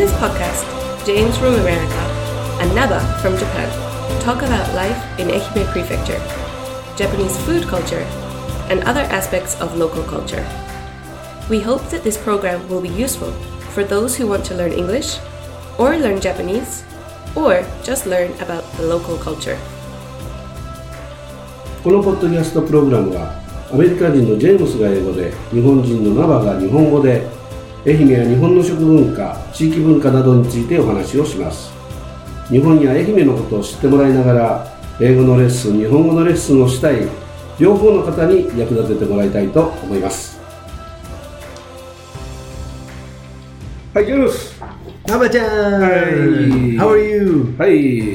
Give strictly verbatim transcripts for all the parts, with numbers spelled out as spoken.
this podcast, James from America and Naba from Japan talk about life in Ehime Prefecture, Japanese food culture, and other aspects of local culture. We hope that this program will be useful for those who want to learn English, or learn Japanese, or just learn about the local culture. このポッドキャストプログラムはアメリカ人のジェームスが英語で、日本人のナバが日本語で、愛媛や日本の食文化、地域文化などについてお話をします。日本や愛媛のことを知ってもらいながら、英語のレッスン、日本語のレッスンをしたい両方の方に役立ててもらいたいと思います。はい、ジェームス。 ナバちゃん、はい、How are you? はい、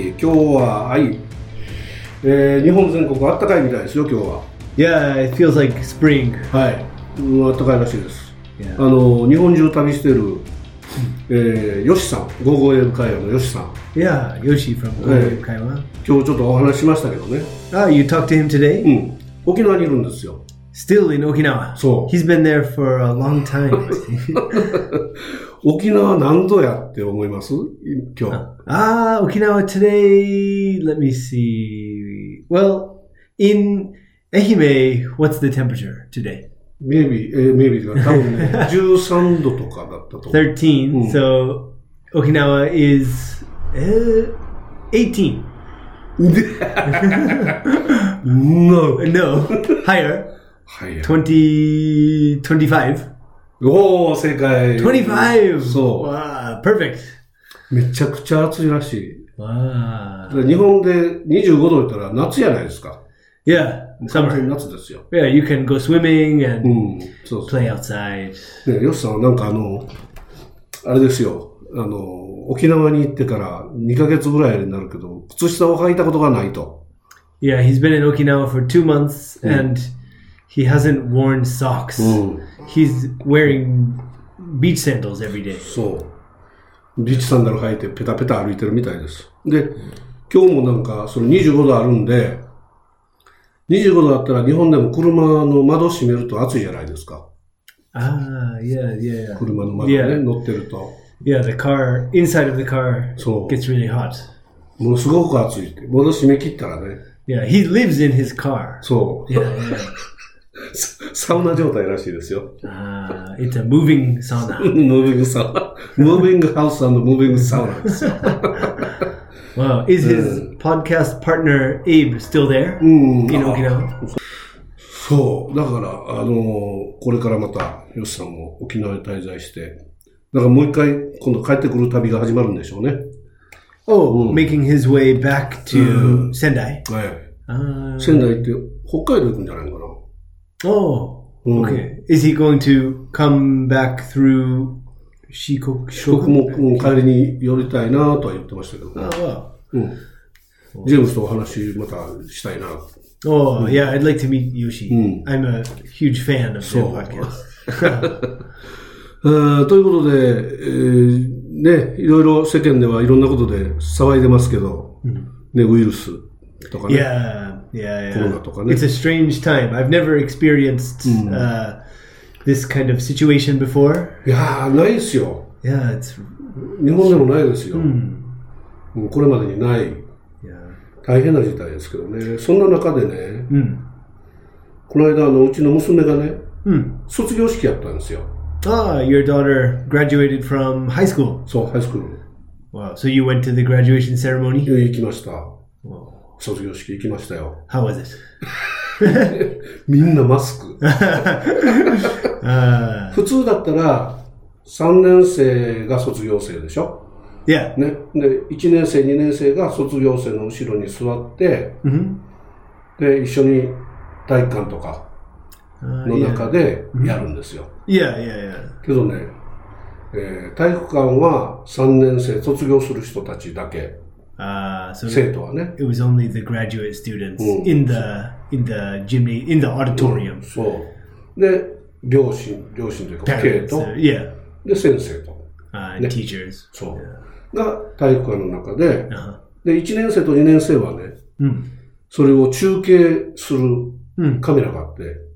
今日は、はい、えー、日本全国あったかいみたいですよ、今日は。 Yeah, it feels like spring. はい、うん、あったかいらしいです。 Yeah. あの日本中旅してる、えー、ヨシさん、ゴーゴーエブ会話のヨシさん。 Yeah, Yoshi from Go Go Ebu会話。 今日ちょっとお話ししましたけどね。 Ah, you talked to him today? うん。沖縄にいるんですよ。 Still in Okinawa. そう。 He's been there for a long time. 沖縄何度やって思います今日。 Ah, Okinawa today. Let me see. Well, in Ehime, what's the temperature today?Maybe, uh, maybe 多分ね、じゅうさんどとかだったと思う。 thirteen. うん、so Okinawa is uh, eighteen. no. No. Higher. Higher. twenty, twenty-five. おー、正解。 twenty-five. そう。 Wow, perfect. めちゃくちゃ暑いらしい。 Wow. 日本でにじゅうごど言ったら夏じゃないですか。 Yeah. 完全に夏ですよ。 Yeah, you can go swimming and、 うん、そうそう play outside. ね、ヨシさんはなんかあの、あれですよ。あの、沖縄に行ってからにかげつぐらいになるけど、靴下を履いたことがないと。 Yeah, he's been in Okinawa for two months、うん、and he hasn't worn socks、うん、he's wearing beach sandals every day. そう。ビーチサンダル履いてペタペタ歩いてるみたいです。で、今日もなんかそのにじゅうごどあるんで、にじゅうごどだったら日本でも車の窓閉めると暑いじゃないですか。 ああ、yeah, yeah, yeah. 車の窓ね、yeah. 乗ってると。 Yeah, the car, inside of the car gets really hot. ものすごく暑いって。窓閉め切ったらね。 Yeah, he lives in his car. そう。 Yeah, yeah. サウナ状態らしいですよ。 ああ、it's a moving sauna. moving sauna. moving house and moving sauna ですよ。 Wow, is his、うん、podcast partner Abe still there、うん、in Okinawa? そう、だからあのー、これからまたヨシさんも沖縄に滞在して、だからもう一回今度帰ってくる旅が始まるんでしょうね。 Oh,、うん、making his way back to、うん、仙台。 はい。Uh, 仙台って北海道行くんじゃないかな。 Oh, okay.、うん、Is he going to come back through?四国、 四国も帰りに寄りたいなとは言ってましたけど、 ああ、 うん、ジェームスとお話またしたいな。 Oh, yeah, I'd like to meet Yoshi. うん、I'm a huge fan of their podcast. ということで、えー、ね、いろいろ世間ではいろんなことで騒いでますけど、うん、ね、ウイルスとかね。 Yeah, yeah, yeah. コロナとかね。 It's a strange time. I've never experienced、うん、uh, this kind of situation before. いやー、ないですよ。 Yeah, it's... 日本でもないですよ。うん、これまでにない。Yeah. 大変な事態ですけどね。そんな中でね、うん、この間あのうちの娘がね、うん、卒業式やったんですよ。 Ah, your daughter graduated from high school. そう、ハイスクール。 Wow, so you went to the graduation ceremony? 行きました。Wow. 卒業式行きましたよ。 How was it? みんなマスク。普通だったらさんねん生が卒業生でしょ。 Yeah. ね。で、いちねん生、にねん生が卒業生の後ろに座って、mm-hmm. で、一緒に体育館とかの中でやるんですよ。 いやいやいや。 けどね、えー、体育館はさんねん生卒業する人たちだけ。 Uh, so 生徒はね。 It was only the graduate students、うん、in the in the gymnasium, in the auditorium、うん、 そうで両親両親というか生徒、 uh, yeah. で先生と、 uh, ね、teachers そう、yeah. が体育館の中で、uh-huh. でいちねん生とにねん生はね、うん、それを中継するカメラがあって、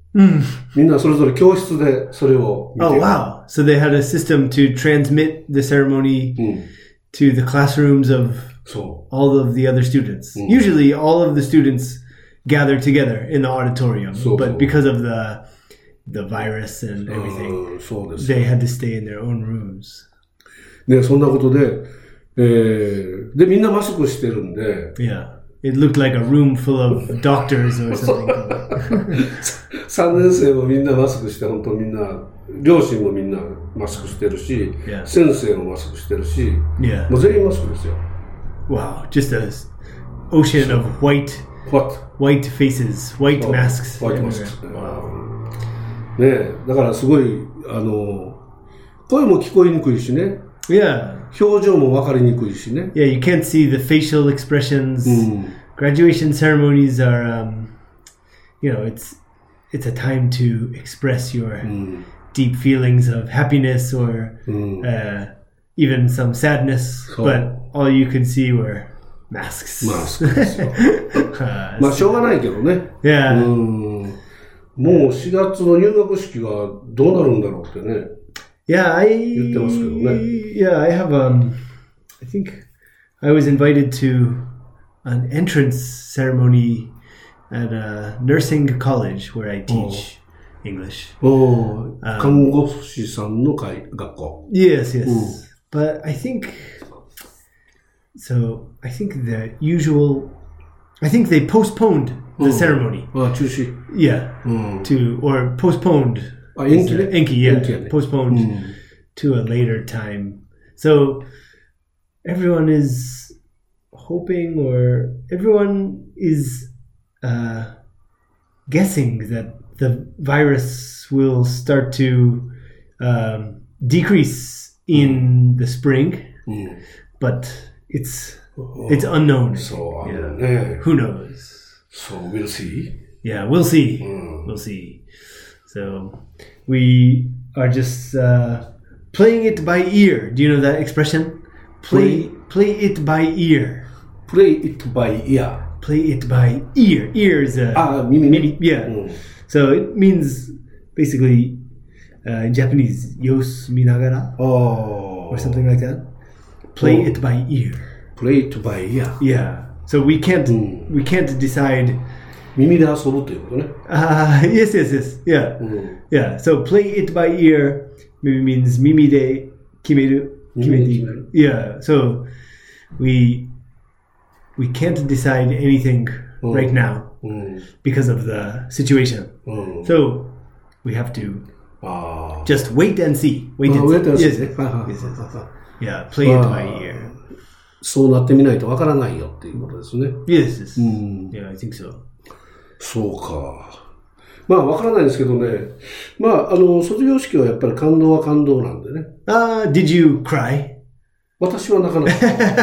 みんなそれぞれ教室でそれを見て Oh, wow. So they had a system to transmit the ceremony うん to the classrooms of そ all of the other students. Mm. Usually all of the students gather together in the auditorium, So- but so- because of the the virus and う everything, うんそうですよ they had to stay in their own rooms. ね、そんなことで、えー、で、みんなマスクしてるんで、 Yeah. It looked like a room full of doctors or something. さんねん生もみんなマスクして、本当みんな、両親もみんなマスクしてるし、 Yeah. 先生もマスクしてるし、 Yeah. もう全員マスクですよ。 Wow. Just a s- ocean of white What? white faces, white Oh, masks. white everywhere. masks. Wow. ねえ、だからすごい、あの、声も聞こえにくいしね、 Yeah. 表情も分かりにくいしね。 Yeah, you can't see the facial expressions. Mm. Graduation ceremonies are, um, you know, it's it's a time to express your deep feelings of happiness or uh, even some sadness. So- but all you could see were masks. マスクですよ。 Uh, まあ、しょうがないけどね。 yeah. うんもうしがつの入学式はどうなるんだろうってね。 Yeah, I 言ってますけどね。 yeah, I have um I think I was invited to an entrance ceremony at a nursing college where I teach English. おー看護師さんの会学校。 Yes, yes. Mm. But I think so I think the usual I think they postponed the Mm. ceremony. あ、中止。 Yeah. うん。 To or postponed あ、延期ね。 Enki, yeah. 延期やね。 Postponed Mm. to a later time. So everyone is hoping or everyone is uh, guessing that the virus will start to um, decrease in the spring, うん。 but it's it's unknown. そう、あの Yeah. ね。 Who knows? そう、we'll see. Yeah, we'll see. Mm. We'll see. So we are just uh, playing it by ear. Do you know that expression? Play play it by ear. play it by ear. Play it by ear. Ear is a あ、耳ね。 maybe yeah. うん So it means basically uh, in Japanese yos minagara あ or あ。 something like that. Play Oh. it by ear. play it by ear. Yeah. So we can't Mm. we can't decide. 耳で遊ぶということね。 Uh, yes, yes, yes. Yeah. うん。 Yeah, so play it by ear maybe means mimi de kimeru. 耳で決める。 Yeah, so we we can't decide anything Oh. right now うん。 because of the situation. うん。 So we have to ああ。 just wait and see. Wait and あ wait and see Yes, ね。はいはいはい yes, yes, yes. はい Yeah, play it by あー ear. そうなってみないとわからないよっていうことですね。 Yes, yes. うん。 Yeah, I think so. そうか。まあ、わからないですけどね。まあ、あの、卒業式はやっぱり感動は感動なんでね。 Uh, did you cry? 私は泣かない。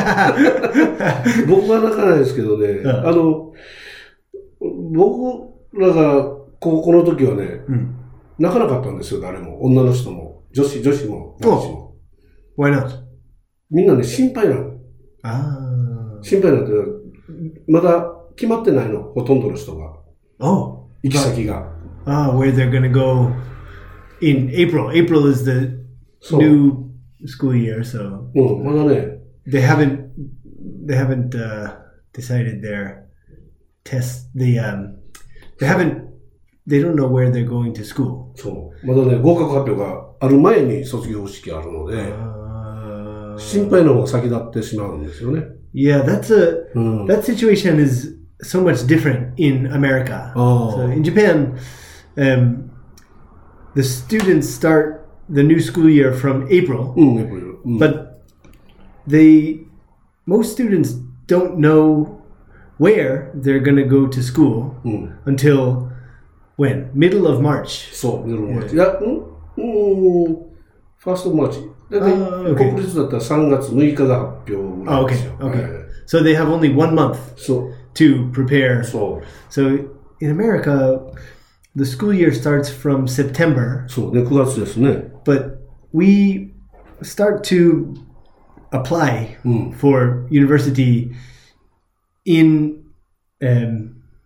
僕は泣かないですけどね。 んあの、僕らが高校の時はね、 Mm. 泣かなかったんですよ、誰も。女の人も。女子、女子も、男子も。 Why not? みんなね、心配なの。 Ah. 心配なんて、まだ決まってないの、ほとんどの人が。 Oh. 行き先が。 Ah, where they're gonna go in April. April is the そう。 new school year, so うん、まだね、 they haven't they haven't uh, decided their test. The um, they haven't they don't know where they're going to school. そう。まだね、合格発表がある前に卒業式あるので、 Uh, 心配の方が先立ってしまうんですよね。 yeah, that's a うん。 that situation is so much different in America. Oh. So in Japan, um, the students start the new school year from April. うん、やっぱり。うん、 But they, most students don't know where they're going to go to school うん。 until when? Middle of March. そう、夜のマーチ。いや、うんうん、ファーストマーチ。だいたいあー OK 国立だったらさんがつむいかが発表ぐらい Oh, で okay, すよ。 okay. はい So they have only one month そう、 to prepare. そう、 So in America, the school year starts from September, そうね、くがつですね。 but we start to apply うん。 for university in um,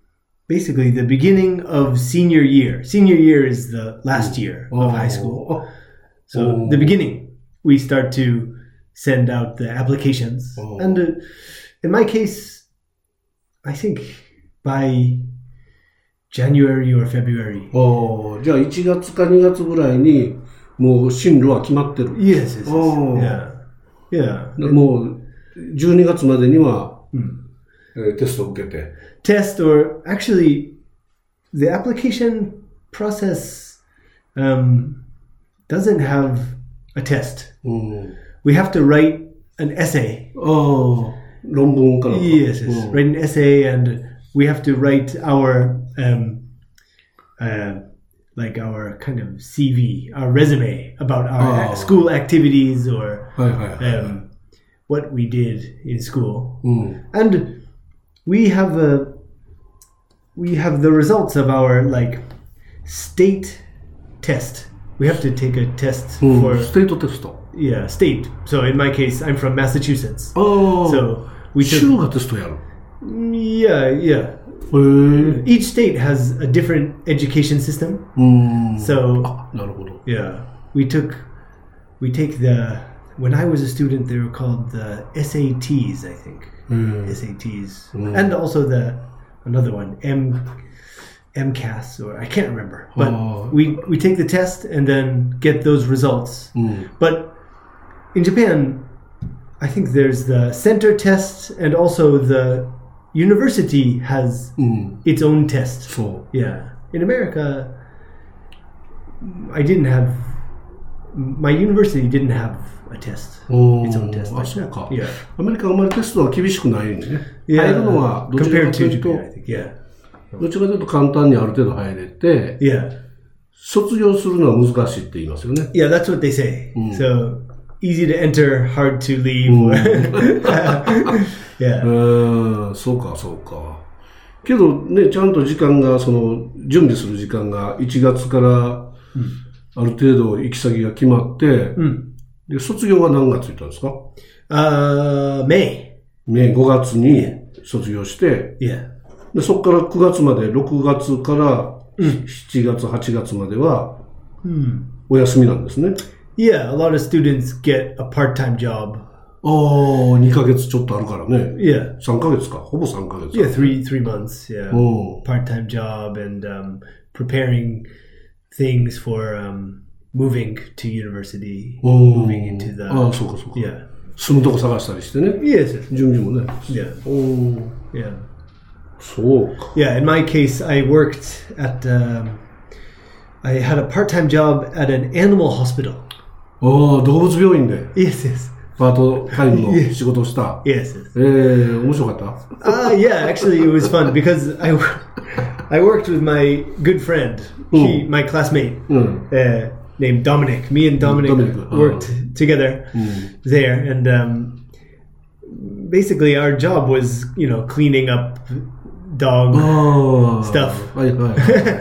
basically the beginning of senior year. Senior year is the last year of high school. So the beginning, we start to send out the applications. And uh, in my case, I think by January or February. ああ、じゃあいちがつかにがつぐらいにもう進路は決まってる。 Yes, yes, yes. Yeah. Yeah. もうじゅうにがつまでには、うんえー、テストを受けて。 Test or actually the application process um, doesn't have a test. うん、 We have to write an essay. ああ、論文かな。 Yes, yes. うん、write an essay and we have to write our um, uh, like our kind of C V, our resume about our oh. school activities or um, what we did in school. Mm. And we have a we have the results of our like state test. We have to take a test mm. for state test. Yeah, state. So in my case, I'm from Massachusetts. Oh. So we took. 州がテストやる。 Yeah, yeah. Each state has a different education system. Mm. So, ah, なるほど. Yeah, we took, we take the, when I was a student, they were called the S A Ts, I think. Mm. S A Ts. Mm. And also the, another one, M, MCAS, or I can't remember. But oh. we, we take the test and then get those results. Mm. But in Japan, I think there's the center test and also the university has mm. its own test. So yeah, in America, I didn't have my university didn't have a test. Its own test. あ、そうか。 Yeah. アメリカはあまりテストは厳しくないんでね。Yeah. 入るのはどちらかというと、 yeah. どちらかというと簡単にある程度入れて、 yeah. 卒業するのは難しいって言いますよね。 Yeah, that's what they say. Mm. So easy to enter, hard to leave. Yeah. うん、そうか、そうか。けどね、ちゃんと時間が、その、準備する時間がいちがつからある程度行き先が決まって、うん、で卒業は何月行ったんですか？ Uh, May. メーごがつに卒業して、 yeah. でそこからくがつまで、ろくがつからしちがつ、はちがつまではお休みなんですね。 Yeah, a lot of students get a part-time job. ああ、にかげつちょっとあるからね。 Yeah. さんかげつか。ほぼさんかげつ。 Yeah, three, three months, yeah. Part-time job and um, preparing things for um, moving to university, moving into the... ああ、そうかそうか。 Yeah. 住むとこ探したりしてね。 Yes. 準備もね。 Yeah. お Yeah. そうか。 Yeah, in my case, I worked at... Um, I had a part-time job at an animal hospital. ああ、動物病院で。 Yes, yes. パートタイムの仕事をした。 Yes, yes. ええー、面白かった？ Uh, yeah, actually it was fun because I, I worked with my good friend, he, my classmate, uh, named Dominic. Me and Dominic, Dominic. worked uh, together there, and um, basically our job was, you know, cleaning up dog oh, stuff. Right, right.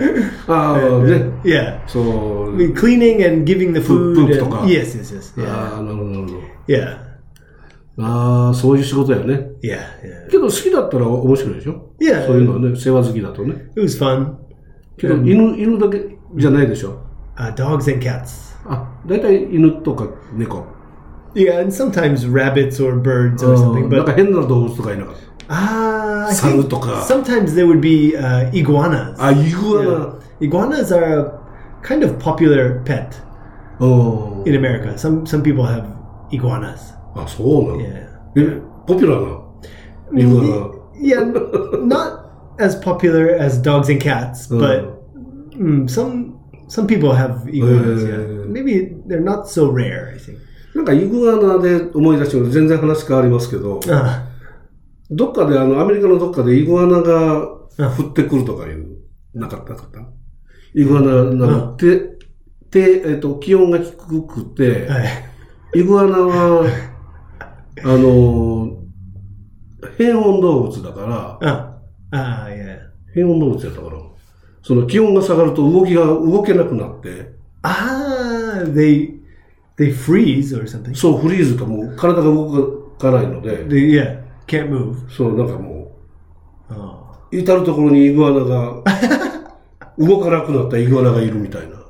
oh, and, uh, yeah. So cleaning and giving the food. Poop, and, poop yes, yes, yes. Yeah. Ah, no, no, no. Yeah. ああ、そういう仕事やね。 Yeah, yeah. けど好きだったら面白いでしょ？ Yeah. そういうのはね、世話好きだとね。 It was fun. けど、犬、犬だけじゃないでしょ？ Uh, dogs and cats. あ、だいたい犬とか猫。 Yeah, and sometimes rabbits or birds or something. But なんか変な動物とかいなかった。 Ah, I サルとか。 Sometimes there would be uh, iguanas. あ、イグアナ。 Yeah. Iguanas are a kind of popular pet oh. in America. Some some people have iguanas. あ、そうなの？ Yeah. え、ポピュラーなイグアナ。 Yeah, not as popular as dogs and cats, but mm, some some people have iguanas. Yeah. Maybe they're not so rare, I think. なんかイグアナで思い出して全然話変わりますけど。 Uh. どっかであのアメリカのどっかでイグアナが降ってくるとかいうなかったかったイグアナなんて、てえっと気温が低くて、はい、イグアナはあの変温動物だから、 ああ、いや、 変温動物やったから、その気温が下がると動きが動けなくなって、 ああ、they they freeze or something。 そうフリーズかもう体が動かないので、 they, yeah。Can't move. そう、なんかもう、 oh. 至るところにイグアナが、動かなくなったイグアナがいるみたいな。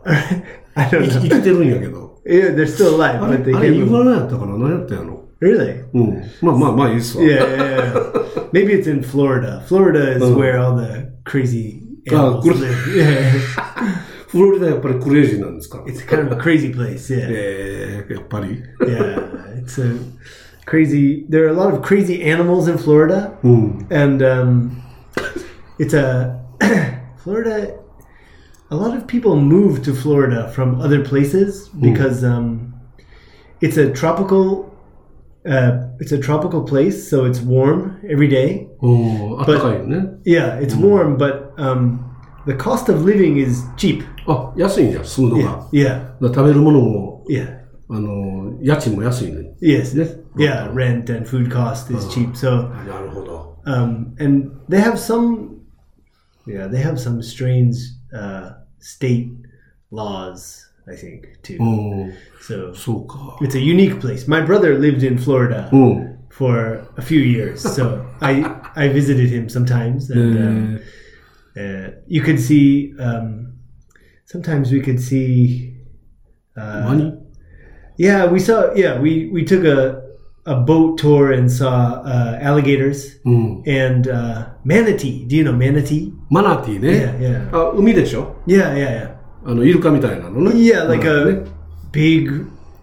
I don't 生 know. きてるんやけど。 Yeah, they're still alive, あ but れ、 they あれ can't イグア move. ナやったかな？何やったんやろ？ Really? うん。まあまあまあいいっすわ。 Yeah, yeah, yeah. Maybe it's in Florida. Florida is where all the crazy animals good. live. Yeah. フロリダやっぱりクレイジーなんですか？ It's kind of a crazy place, yeah. えー、やっぱり。 Yeah, it's a crazy. There are a lot of crazy animals in Florida, うん。 and um, it's a Florida. A lot of people move to Florida from other places because um, it's a tropical. Uh, it's a tropical place, so it's warm every day. おー、あったかいよね。 Yeah, it's warm, but um, the cost of living is cheap. あ、安いんじゃん、住むの Yeah, が。 yeah, だから食べるものも、 yeah. あの、家賃も安いね。 Yes, ね。 yeah. Rent and food cost is cheap. So, なるほど。 um, and they have some, yeah, they have some strange uh, state laws, I think, too. うん。 So そうか。 it's a unique place. My brother lived in Florida うん。 for a few years, so I I visited him sometimes, and um, uh, you could see. Um, sometimes we could see. Uh, Money? Yeah, we saw. Yeah, we we took a a boat tour and saw uh, alligators うん。 and uh, manatee. Do you know manatee? マナティー Yeah, ね。 yeah, あ、海でしょ？ yeah, yeah, yeah. あの、イルカみたいなのね。 Yeah, like マナティー a ね big,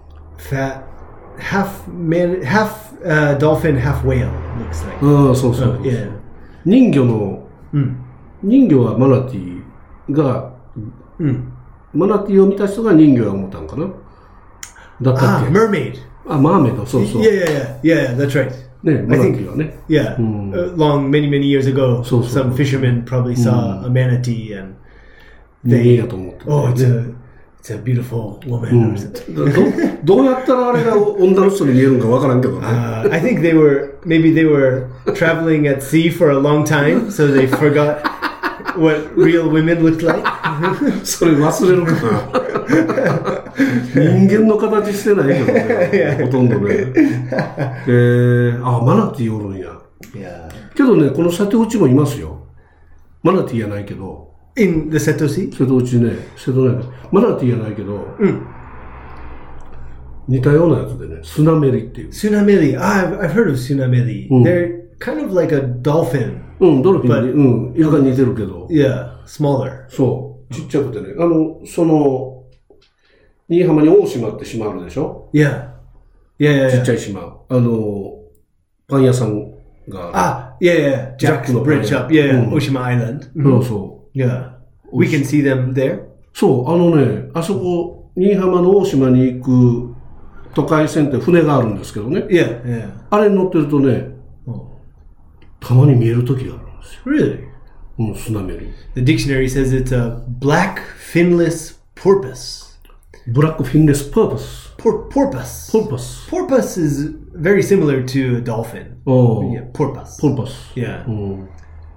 fat, half man, half uh, dolphin, half whale. Looks like. ああ、そうそう Oh,。yeah. 人魚の、 Mm. 人魚はマナティーが、 Mm. マナティーを見た人が人魚や思ったんかなだったっ Ah, け？ mermaid. あ、マーメイド、そうそう。 Yeah, yeah, yeah, yeah. That's right. ね、マナティーはね。 Yeah, Mm. uh, long, many, many years ago, So, so. some fishermen probably saw a manatee, and 人間やと思ってた oh, よ it's ね。 a, it's a beautiful woman or something. どどうやったらあれが女の人に見えるんかわからんけどね。 Uh, I think they were maybe they were traveling at sea for a long time, so they forgot what real women looked like. それ忘れるかな。人間の形してないけどね。ほとんどね。えー、あ、マナティーおるんや。 Yeah. けどね、この瀬戸内もいますよ。マナティーやないけど。 In the Seto Sea? 瀬戸内ね、瀬戸内。マナティーやないけど、 Mm. 似たようなやつでね、スナメリっていう。 Tsunameli. Ah, I've, I've heard of Tsunameli. They're kind of like a dolphin. うん、ドルフィンに、うん、イルカに似てるけど。 Yeah, smaller. そう、ちっちゃくてね。あの、その、新居浜に大島って島あるでしょ？ Yeah. Yeah, yeah, ちっ yeah. ちゃい島。あの、パン屋さんがあ Ah, yeah, yeah. Jack's Jack Bridge Lopez. up. Yeah, yeah. Mm. Oshima Island. る。そうそう。 Yeah. We can see them there. そう、あのね、あそこ、新居浜の大島に行く都会線って船があるんですけどね。 Yeah, yeah. あれに乗ってるとね、 Oh. たまに見える時があるんですよ。 Really? うん、スナメリ。 The dictionary says it's a black finless porpoise. ブラックフィンレスパーパス。 Por- porpoise. ポルパス。 Porpoise is very similar to a dolphin. お Yeah, ー、 porpoise. ポルパス。 Yeah. うん、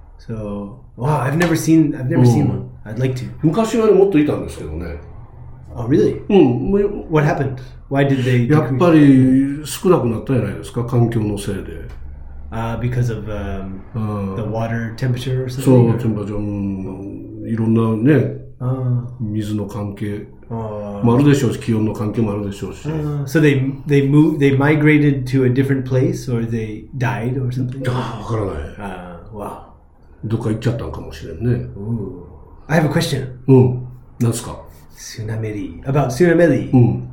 So, wow, I've never seen. I've never seen one. I'd like to. 昔はね、もっといたんですけどね。 Oh, really? うん、もう What happened? Why did they? やっ decrease? ぱり少なくなったじゃないですか、環境のせいで。 Uh, because of um, うん、 the water temperature or そう、 something. テンパチョン、いろんなね、 Uh, 水の関係 uh, もあるでしょうし、気温の関係もあるでしょうし。 uh, so they they moved. They migrated to a different place, or they died, or something. ああ、わからない。 Uh, wow. どっか行っちゃったんかもしれんね。 Ooh. I have a question. うん。なんすか？ Tsunameli. About Tsunameli. うん。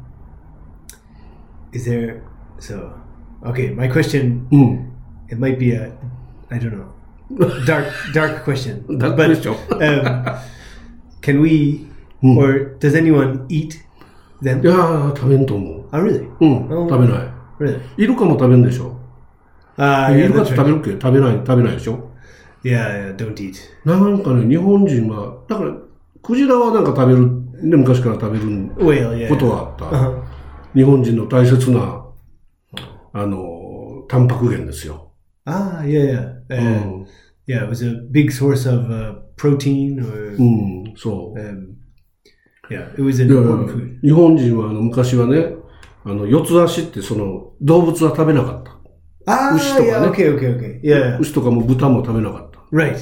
Is there so okay, my question うん。 it might be a I don't know. Dark dark question. Dark but question. um, can we or does anyone eat them? いやー、食べんと思う。 Oh really? うん。 うん食べない。 Really? イルカも食べんでしょ。 Uh イ yeah, ルカっ that's て食 right. べるっけ？食べない、食べないでしょ。 Yeah, yeah, don't eat. なんかね、日本人は、だから、クジラはなんか食べる、ね、昔から食べる Whale, yeah. ことはあった。 Uh-huh. 日本人の大切な、あの、タンパク源ですよ。 Ah, yeah, yeah. う Uh, ん。 yeah, it was a big source of uh, protein or うん、そう。 um, yeah, it was an だから important food. 日本人はあの昔はね、あの、四つ足ってその、動物は食べなかった。 Ah, Ushi to yeah, ka ne? okay, okay, okay. Yeah, 牛とかも豚も食べなかった。 right.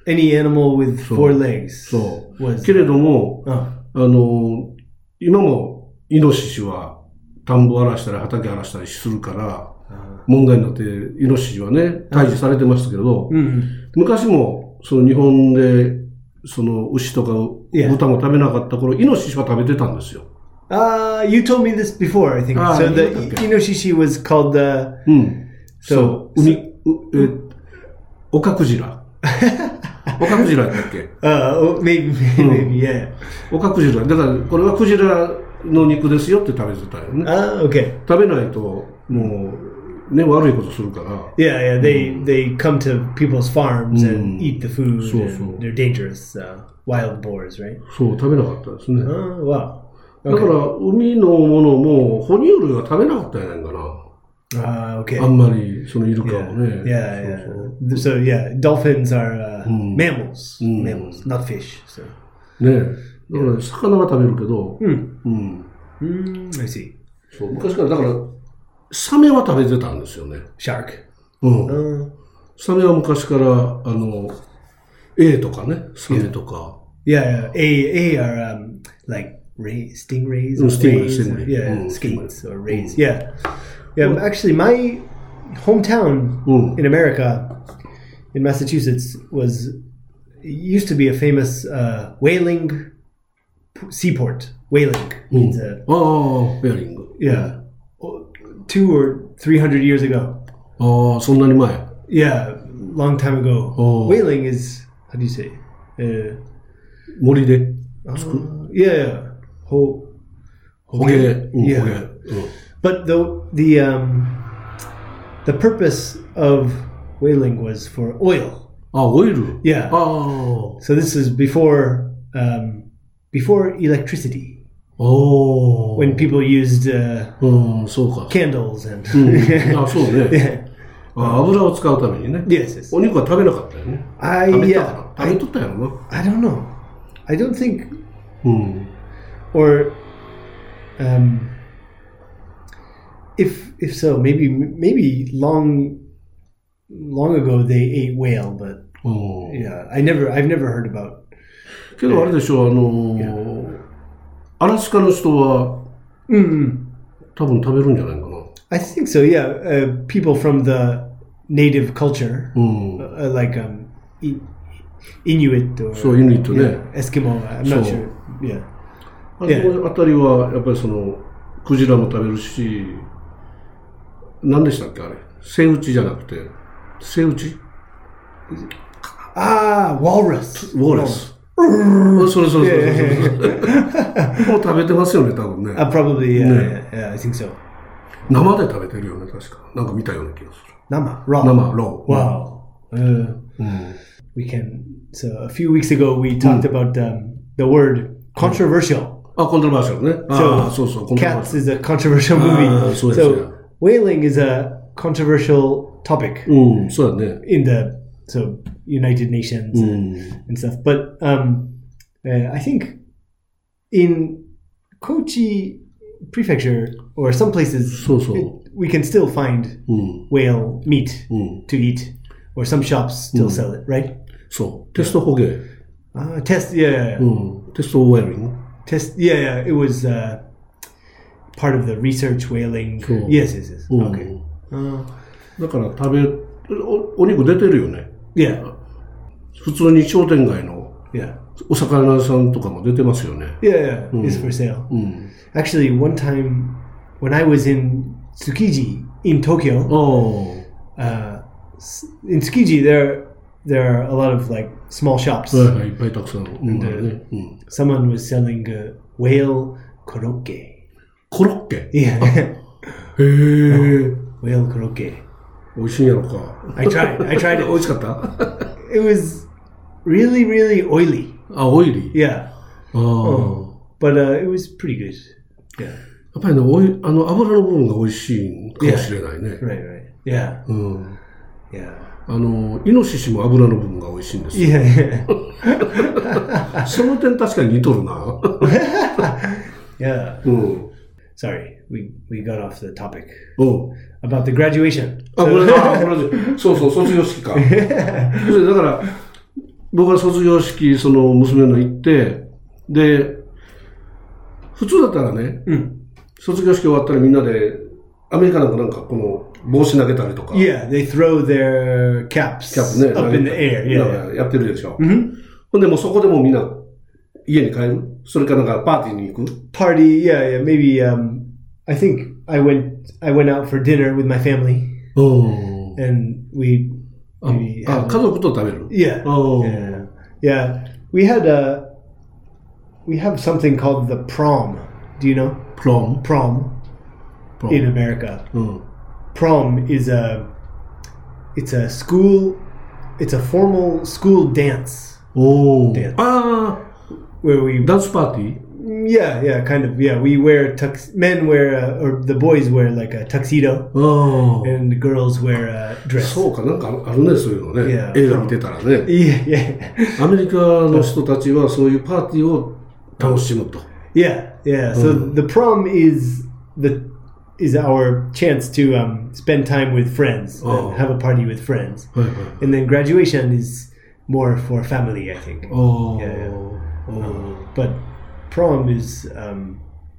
any animal with four legs そう。 was けれども、 ああの、今もイノシシは田んぼ荒らしたり畑荒らしたりするから、問題になってイノシシはね、退治されてましたけど、 うん、 昔もその日本でその牛とか豚も食べなかった頃、イノシシは食べてたんですよ。 Uh, you told me this before, I think. Ah, so the okay. Inoshishi was called the... うん。そう。海、え、オカクジラ。オカクジラだっけ Uh, maybe, maybe, yeah. オカクジラ。だから、これはクジラの肉ですよって食べてたよね。 Ah, okay. 食べないと、もう、ね、悪いことするから。 Yeah, yeah, they, they come to people's farms and eat the food. そうそう。 And they're dangerous, uh, wild boars, right? そう、食べなかったですね。 Oh, wow. だから、海のものも、哺乳類は食べなかったんやないかな。 Ah, okay. あんまり、そのイルカもね。 Yeah, そう yeah. そう So, yeah, dolphins are uh, Mm. mammals. Mm. Mammals, not fish. So. ねえ。だから、魚は食べるけど、 Mm. うん。 Mm, I see. そう、昔から、だから、サメは食べてたんですよね。 Shark. うん。 Uh, サメは昔から、あの、エイとかね、サメとか。 yeah, yeah. A, A are um, like ray, stingrays or Mm, stingray, rays. stingray. Yeah, Mm, skates or rays. Yeah. Yeah, actually, my hometown Mm. in America, in Massachusetts, was used to be a famous uh, whaling p- seaport. Whaling means uh, ああ、ベアリング。 yeah, two or three hundred years ago. ああ、そんなに前。 Yeah, long time ago. Oh. Whaling is how do you say? Uh, 森で uh, 作る。 yeah, ho, ホゲ。うん、 Yeah. ホゲ。うん。 But the the um, the purpose of whaling was for oil. あ、オイル。 Yeah. ああ。 So this is before um, before electricity, おー。 when people used uh, うん、そうか。 candles and うん、あ、そうね。 yeah. あ、油を使うためにね。 Yes, yes. お肉は食べなかったよね。 I 食べた yeah. かな。食べとったやろな。 I don't know. I don't think うん。 or um, if if so, maybe maybe long long ago they ate whale, but うん。 yeah, I never I've never heard about. けどあれでしょ、あのー、アラスカの人は Mm, 多分食べるんじゃないかな。 I think so. Yeah, uh, people from the native culture, うん。 uh, like um, I- Inuit or そう、イヌイットね。 yeah, Eskimo. I'm not So- sure. Yeah. あそこあたりは、やっぱりその、クジラも食べるし、何でしたっけあれ。セイウチじゃなくて、セイウチ Ah, walrus. ウォーレス。それそれそれそれそれ。もう食べてますよね、多分ね。 Uh, probably. Yeah, Yeah. yeah, yeah. I think so. 生で食べてるよね、確か。なんか見たような気がする。 Nama raw. 生、ロー。 Wow. Uh, うん。 we can. So a few weeks ago we talked about um, the word controversial. あ、コントロバーシャルね。ああ、そうそう、コントロバー Cats シャル。 is a controversial movie. Ah, so it's, yeah. whaling is a controversial topic うん、そうだね。 in the so United Nations う and, ん。 and stuff. But um, uh, I think in Kochi Prefecture or some places, そうそう。 it- we can still find うん。 whale meat うん。 to eat, or some shops still sell it, right? そう。テスト捕鯨。 Uh, test, yeah, yeah, うん。テストウェーリング。 test, yeah, yeah. It was uh, part of the research whaling. Cool. Yes, yes, yes. うん Okay. Uh, だから食べ、お、お肉出てるよね。 yeah, 普通に商店街の yeah, お魚屋さんとかも出てますよね。 yeah, yeah. It's for sale. うん。 Actually, one time when I was in Tsukiji in Tokyo, ああ。 uh, s- in Tsukiji there there are a lot of like small shops. はいはい、いっぱいたくさん。うん。 でねうん、 Someone was selling uh, whale korokke. コロッケ。 Yeah, へえ。 whale korokke. 美味しいんやろか。 I tried. I tried 美 it. 味しかった It was really, really oily. あ、オイリー。 Yeah, ああ。 but uh, it was pretty good. Yeah. やっぱりね、おい、あの、油の部分が美味しいかもしれないね。 Right, right. Yeah, うん。 yeah, あの、イノシシも油の部分が美味しいんですよ。 yeah, yeah. その点確かに似とるな。 yeah. うん。 Sorry, we we got off the topic うん。 about the graduation. あ、これ、あ、これ、そうそう、卒業式か。そうだから、 僕は卒業式、その娘の行って、で、普通だったらね、うん、卒業式終わったらみんなで、アメリカなんかなんかこの帽子投げたりとか。 Yeah, they throw their caps キャップね up in the air. Yeah, yeah. やってるでしょ。Mm-hmm. ほんでもうそこでもみんな家に帰る？それかなんかパーティーに行く？ Party, yeah, yeah. Maybe, um, I think I went, I went out for dinner with my family. Oh. And we, maybe あ、家族と食べる？ Yeah. Oh. Yeah. Yeah. We had a, we have something called the prom. Do you know? Prom? Prom. Prom. In America. Mm. Prom is a, it's a school, it's a formal school dance. Oh. Dance. Ah. Where we... Dance party? Yeah, yeah, kind of. Yeah, we wear, tux, men wear, uh, or the boys wear like a tuxedo. Oh. And the girls wear a dress. そうか、なんかあるね、そういうのね。 Yeah. 映画見てたらね。 Yeah, yeah. アメリカの人たちはそういうパーティーを楽しむと。 Yeah, yeah. So mm. the prom is the is our chance to um, spend time with friends, oh. and have a party with friends, and then graduation is more for family, I think. Oh, yeah. yeah. Oh. Um, but prom is um,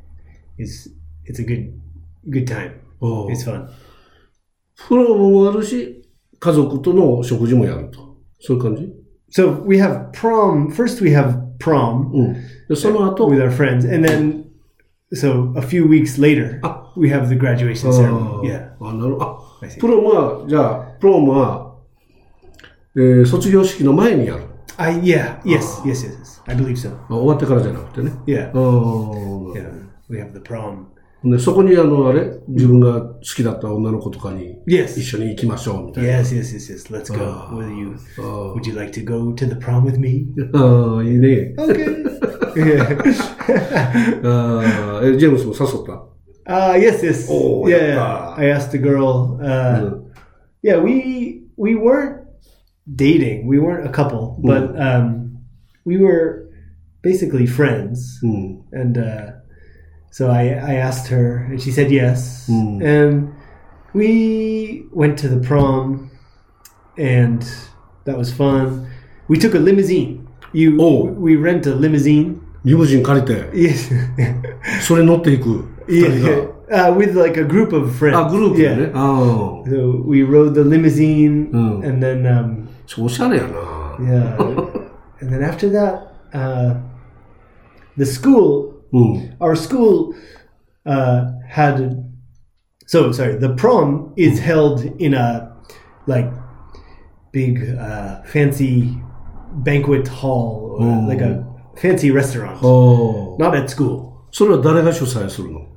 is it's a good good time. Oh. It's fun. プロもあるし、家族との食事もやると。そういう感じ？ So we have prom. First, we have prom. うん。で、その後 with our friends, and then so a few weeks later, we have the graduation ceremony. Yeah. あ、なるほど。あ、プロムはじゃあプロムは、えー、卒業式の前にやる。 I yeah yes yes yes I believe so. あ、終わってからじゃなくてね。 Yeah. Oh. Yeah. We have the prom. でそこにあのあれ自分が好きだった女の子とかに一緒に行きましょうみたいな。 Yes, yes, yes, yes. Let's go. Will you? Would you like to go to the prom with me? ああ、いいね。 Okay. Yeah. ああ、ジェームスも誘った？ Uh, yes, yes. Oh, yeah, yeah. I asked the girl. Uh, mm. Yeah, we we weren't dating. We weren't a couple, mm. but um, we were basically friends. Mm. And uh, so I, I asked her, and she said yes. Mm. And we went to the prom, and that was fun. We took a limousine. You, oh. We rent a limousine. リムジン借りて。 Yes. それ乗っていく。 Yeah. Uh, with like a group of friends. あ、グループでね。 Yeah. So we rode the limousine, mm. and then um, おしゃれやな。 Yeah. And then after that, uh, the school, mm. our school uh, had. So sorry, the prom is held in a like big uh, fancy banquet hall, or mm. like a fancy restaurant. Oh. Not at school. それは誰が主催するの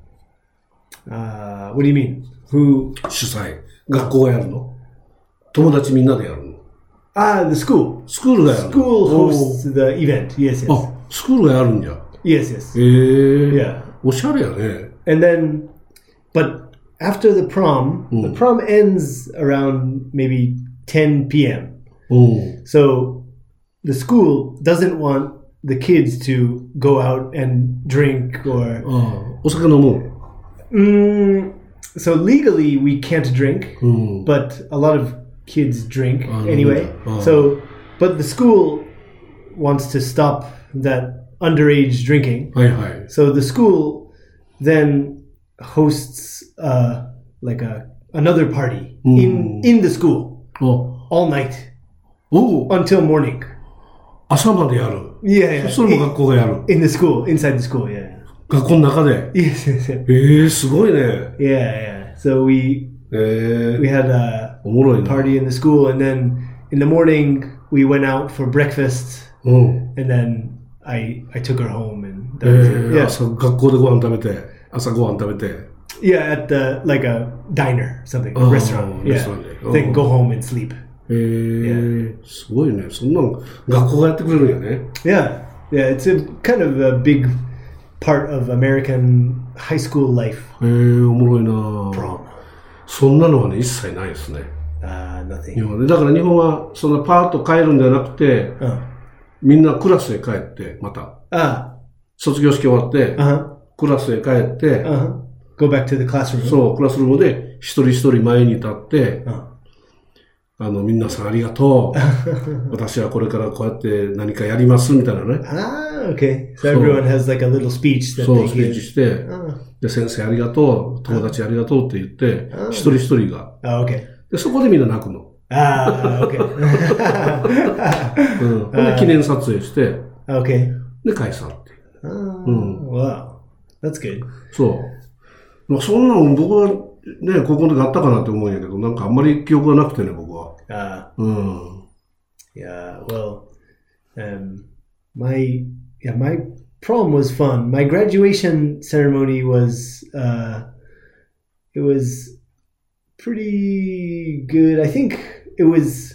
？Uh, what do you mean? Who? 主催。学校がやるの？友達みんなでやるの？ Ah, the school. スクールがやるの？ School hosts the event. Yes, yes. あ、スクールがやるんじゃ。 Yes, yes. へえ。 Yeah. おしゃれやね。 And then, but after the prom, mm. the prom ends around maybe ten p.m. Mm. So the school doesn't want the kids to go out and drink or... あ、お酒飲む？ Mm, so legally we can't drink, mm. but a lot of kids drink uh, anyway. Uh. So, but the school wants to stop that underage drinking. Hi, hi. So the school then hosts uh, like a another party mm. in in the school oh. all night oh. until morning. 朝までやる。 Yeah, yeah. それも学校がやる。 In the school, inside the school, yeah. 学校の中で。 Yes, yes, yes. ええ、すごいね。 Yeah, yeah. So we, えー、 we had a おもろいな。 party in the school, and then in the morning we went out for breakfast, うん、 and then I I took her home, and that え was ー it. Yeah. 朝学校でご飯食べて、朝ご飯食べて。 Yeah, at the like a diner, something, a restaurant. Yeah, restaurant. Then go home and sleep. えー、すごいね。そんなの学校がやってくれるんやね。 Yeah, yeah. It's a kind of a big part of American high school life. えー、おもろいな。 Prom. そんなのはね、一切ないですね。 Uh, nothing. 日本でだから日本はそんなパーッと帰るんじゃなくて、 uh. みんなクラスへ帰ってまた、 uh. 卒業式終わって、 uh-huh. クラスへ帰って、 uh-huh. Go back to the classroom. そうクラスルームで一人一人前に立って、 uh. あの、皆さんありがとう。私はこれからこうやって何かやりますみたいなね。 Ah, okay. So everyone has like a little speech that そう、 they スピー give. チして、で、先生ありがとう、友達ありがとうって言って、一人一人が。 Oh, okay. で、そこでみんな泣くの。 Ah, okay. うん。ほんで、記念撮影して、 Okay. で、解散っていう。 Oh, うん。 wow. That's good. そう。まあ、そんなん僕はね、高校の時あったかなって思うんやけど、なんかあんまり記憶がなくてね、僕は。 Ah. うん。 Yeah, well, um, my, yeah, my prom was fun. My graduation ceremony was, uh, it was pretty good. I think it was,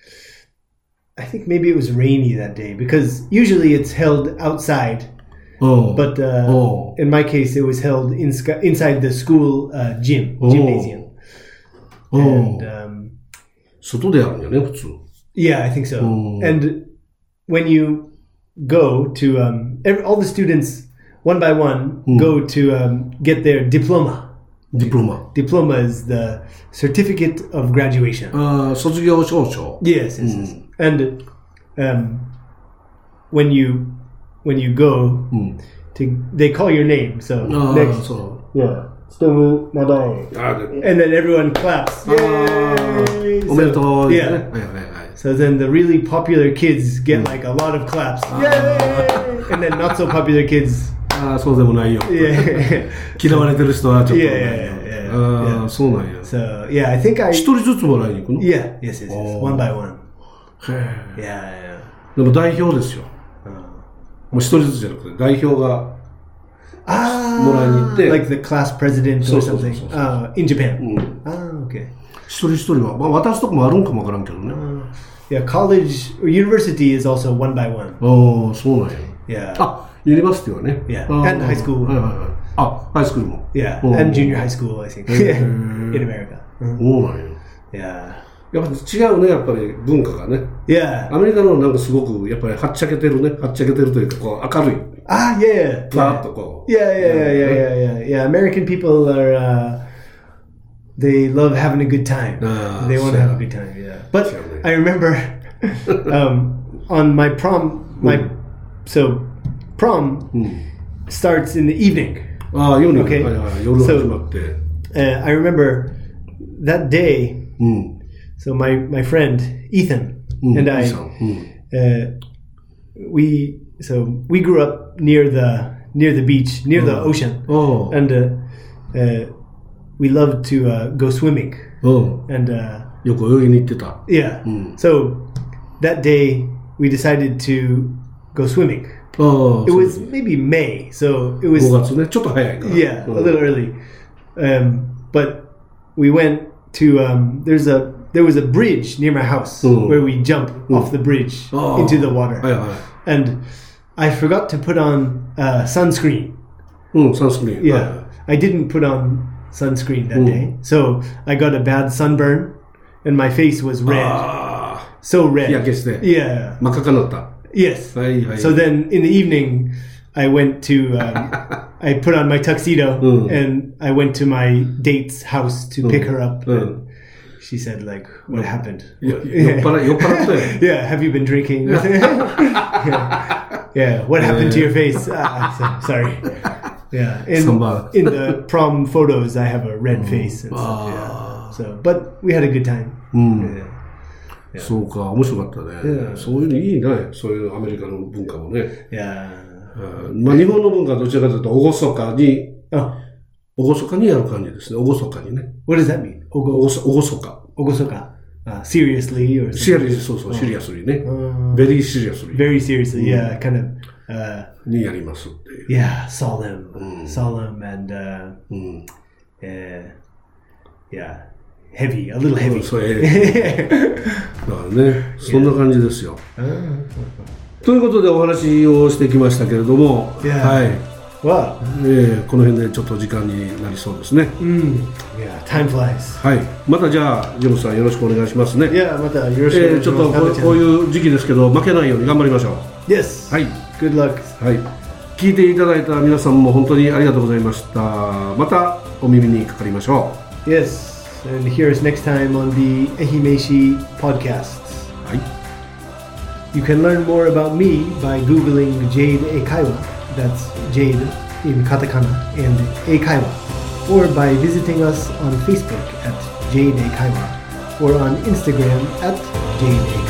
I think maybe it was rainy that day because usually it's held outside. Oh. But uh, oh. in my case, it was held in, inside the school uh, gym, oh. gymnasium. Oh. And, um, 外でやるんやね、普通。 Yeah, I think so. Oh. And when you go to, um, every, all the students, one by one, mm. go to um, get their diploma. Diploma. Diploma is the certificate of graduation. ああ、卒業証書。 Yes, yes, yes. And um, when you when you go mm. to, they call your name. So ah, next, so. yeah, Stomu Nadai, and then everyone claps. Yay! Ah, so, yeah. So then the really popular kids get like a lot of claps. Yay! And then not so popular kids. ああ、そうでもないよ。 Yeah. 嫌われてる人はちょっと。 Yeah, yeah, yeah, yeah. ああ、そうなんや。 So yeah, I think I. 一人ずつもらいに行くの？ Yeah, yes, yes, yes. One by one. へえ。 Yeah, yeah. でも代表ですよ。もう一人ずつじゃなくて代表が Ah, もらいに行って。 like the class president or something. Uh, in Japan. うん。 Ah, okay. 一人一人は、まあ渡すとこもあるんかもわからんけどね。 Yeah, college or university is also one by one. ああ、そうなん Yeah. や。あ、ユニバーシティはね。 Yeah. And high school. はいはいはい。あ、ハイスクールも。 Yeah. うん And junior high school, I think. In America. そうなんや。 Yeah. やっぱ違うね、やっぱり文化がね。 Yeah. アメリカのなんかすごく、やっぱりはっちゃけてるね。はっちゃけてるというか、こう明るい。 Ah, yeah. ふわっとこう。 Yeah, yeah, yeah, yeah, yeah, yeah. Yeah, American people are, uh, they love having a good time. Ah, they want to sure. have a good time, yeah. But Sure. I remember um, on my prom, my, Mm. so prom Mm. starts in the evening. ああ、夜に、 Okay. はいはい、夜始まって。 Uh, I remember that day, うん。 so my, my friend Ethan うん and I, いいさんうん uh, we, so we grew up near the, near the beach, near the Oh. ocean. ああ。 And uh, uh, we loved to uh, go swimming. うん。 And uh, よく泳ぎに行ってた。 yeah, Mm. so that day we decided to go swimming. ああ。 It was maybe May, so it was ごがつね。ちょっと早いから。 yeah, うん a little early. Um, but we went to um, there's a there was a bridge near my house Mm. where we jump off the bridge Oh. into the water. はいはい。 And I forgot to put on uh, sunscreen. うん、サンスクリーン。 Yeah, I didn't put on sunscreen that Mm. day, so I got a bad sunburn, and my face was red, ああ。 so red. 日焼けして。 Yeah. 真っ赤かになった。 Yes. はいはい。 So then in the evening, I went to um, I put on my tuxedo Mm. and I went to my date's house to pick her up. Mm. And she said, like, what happened? よ酔っ払い、酔っ払ったよ。 Yeah, have you been drinking? yeah. Yeah, what happened to your face? Ah, so- sorry. Yeah, in, Samba. in the prom photos, I have a red face and stuff. Ah. Yeah. So, but we had a good time. うん。 Yeah. そうか、面白かったね。 Yeah. そういうのいいね。そういうアメリカの文化もね。 Yeah. うんまあ日本の文化はどちらかというと、おごそかに、 Oh, おごそかにやる感じですね。おごそかにね。 what does that mean? お Ogo, ごそ、おごそか。 ogosoka. Uh, seriously or シ something? リアス、そうそう、シリアスにね。 Uh, ベリーシリアスに very seriously, yeah, kind of, uh, にやりますっていう。 yeah, solemn, Mm. solemn, and uh, うん。 uh, yeah, heavy, a little heavy. そう、ええ。だからね、そんな感じですよ。 Uh, ということでお話をしてきましたけれども、 Yeah. はい。 wow. えーこの辺でちょっと時間になりそうですね。 Mm, yeah, time flies. はい。またじゃあ、ジェームスさんよろしくお願いしますね。 Yeah, またよろしくえーちょっとこうこういう時期ですけど、負けないように頑張りましょう。 Yes. はい。 Good luck. はい。聞いていただいた皆さんも本当にありがとうございました。またお耳にかかりましょ Yes. and hear us next time on the Ehimeishi podcasts. はい。 You can learn more about me by Googling Jade Eikaiwa, that's Jade in katakana, and Eikaiwa, or by visiting us on Facebook at Jade Eikaiwa, or on Instagram at Jade Eikaiwa.